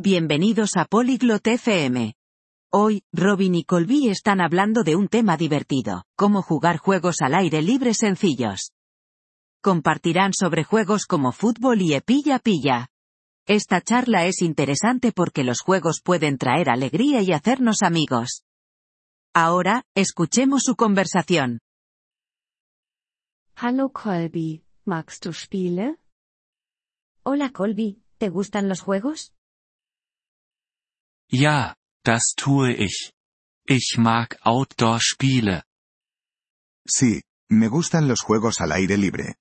Bienvenidos a Polyglot FM. Hoy, Robin y Colby están hablando de un tema divertido, cómo jugar juegos al aire libre sencillos. Compartirán sobre juegos como fútbol y pilla-pilla. Esta charla es interesante porque los juegos pueden traer alegría y hacernos amigos. Ahora, escuchemos su conversación. Hallo Colby, magst du Spiele? Hola Colby, ¿te gustan los juegos? Ja, das tue ich. Ich mag Outdoor-Spiele. Sí, me gustan los juegos al aire libre.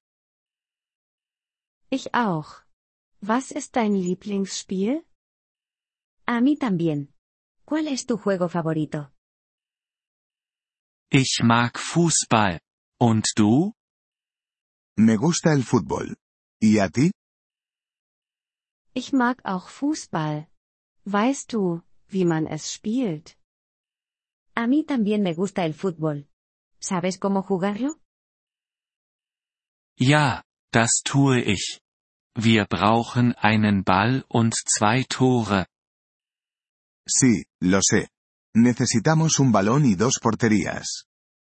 Ich auch. Was ist dein Lieblingsspiel? A mí también. ¿Cuál es tu juego favorito? Ich mag Fußball. Und du? Me gusta el fútbol. ¿Y a ti? Ich mag auch Fußball. Weißt du, wie man es spielt? A mí también me gusta el fútbol. ¿Sabes cómo jugarlo? Ja, das tue ich. Wir brauchen einen Ball und 2 Tore. Sí, lo sé. Necesitamos un balón y 2 porterías.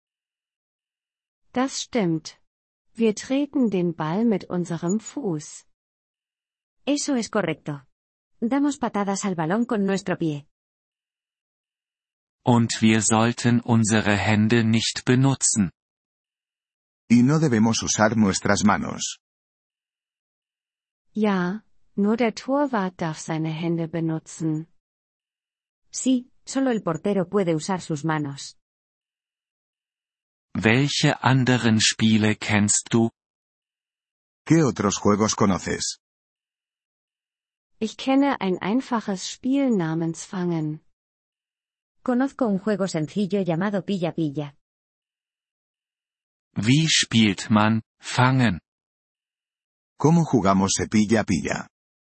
Das stimmt. Wir treten den Ball mit unserem Fuß. Eso es correcto. Damos patadas al balón con nuestro pie. Und wir sollten unsere Hände nicht benutzen. Y no debemos usar nuestras manos. Ja, nur der Torwart darf seine Hände benutzen. Sí, solo el portero puede usar sus manos. Welche anderen Spiele kennst du? ¿Qué otros juegos conoces? Ich kenne ein einfaches Spiel namens Fangen. Conozco un juego sencillo llamado pilla-pilla. Wie spielt man Fangen? ¿Cómo jugamos pilla-pilla?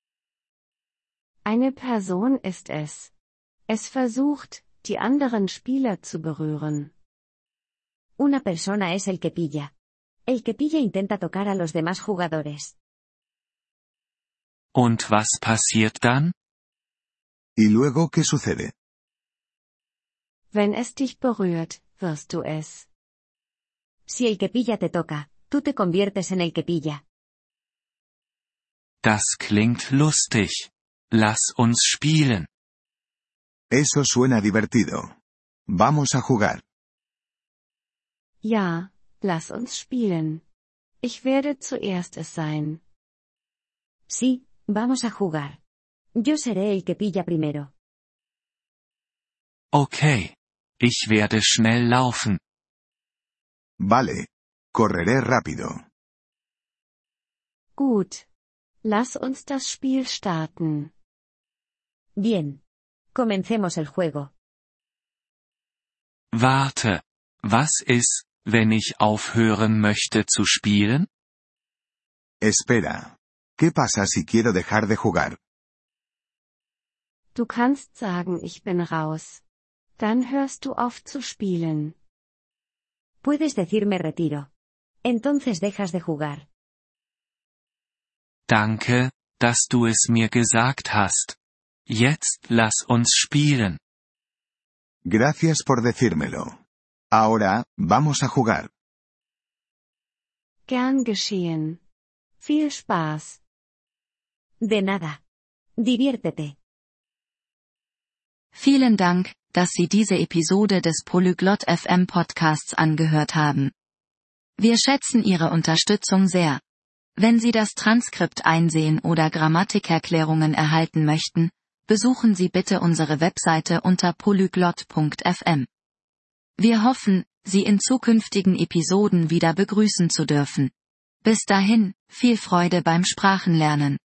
Eine Person ist es. Es versucht, die anderen Spieler zu berühren. Una persona es el que pilla. El que pilla intenta tocar a los demás jugadores. Und was passiert dann? ¿Y luego qué sucede? Wenn es dich berührt, wirst du es. Si el que pilla te toca, tú te conviertes en el que pilla. Das klingt lustig. Lass uns spielen. Eso suena divertido. Vamos a jugar. Ja, lass uns spielen. Ich werde zuerst es sein. Sí, vamos a jugar. Yo seré el que pilla primero. Okay. Ich werde schnell laufen. Vale. Correré rápido. Gut. Lass uns das Spiel starten. Bien. Comencemos el juego. Warte. Was ist, wenn ich aufhören möchte zu spielen? Espera. ¿Qué pasa si quiero dejar de jugar? Du kannst sagen, ich bin raus. Dann hörst du auf zu spielen. Puedes decirme retiro. Entonces dejas de jugar. Danke, dass du es mir gesagt hast. Jetzt lass uns spielen. Gracias por decírmelo. Ahora, vamos a jugar. Gern geschehen. Viel Spaß. De nada. Diviértete. Vielen Dank, dass Sie diese Episode des Polyglot FM Podcasts angehört haben. Wir schätzen Ihre Unterstützung sehr. Wenn Sie das Transkript einsehen oder Grammatikerklärungen erhalten möchten, besuchen Sie bitte unsere Webseite unter polyglot.fm. Wir hoffen, Sie in zukünftigen Episoden wieder begrüßen zu dürfen. Bis dahin, viel Freude beim Sprachenlernen.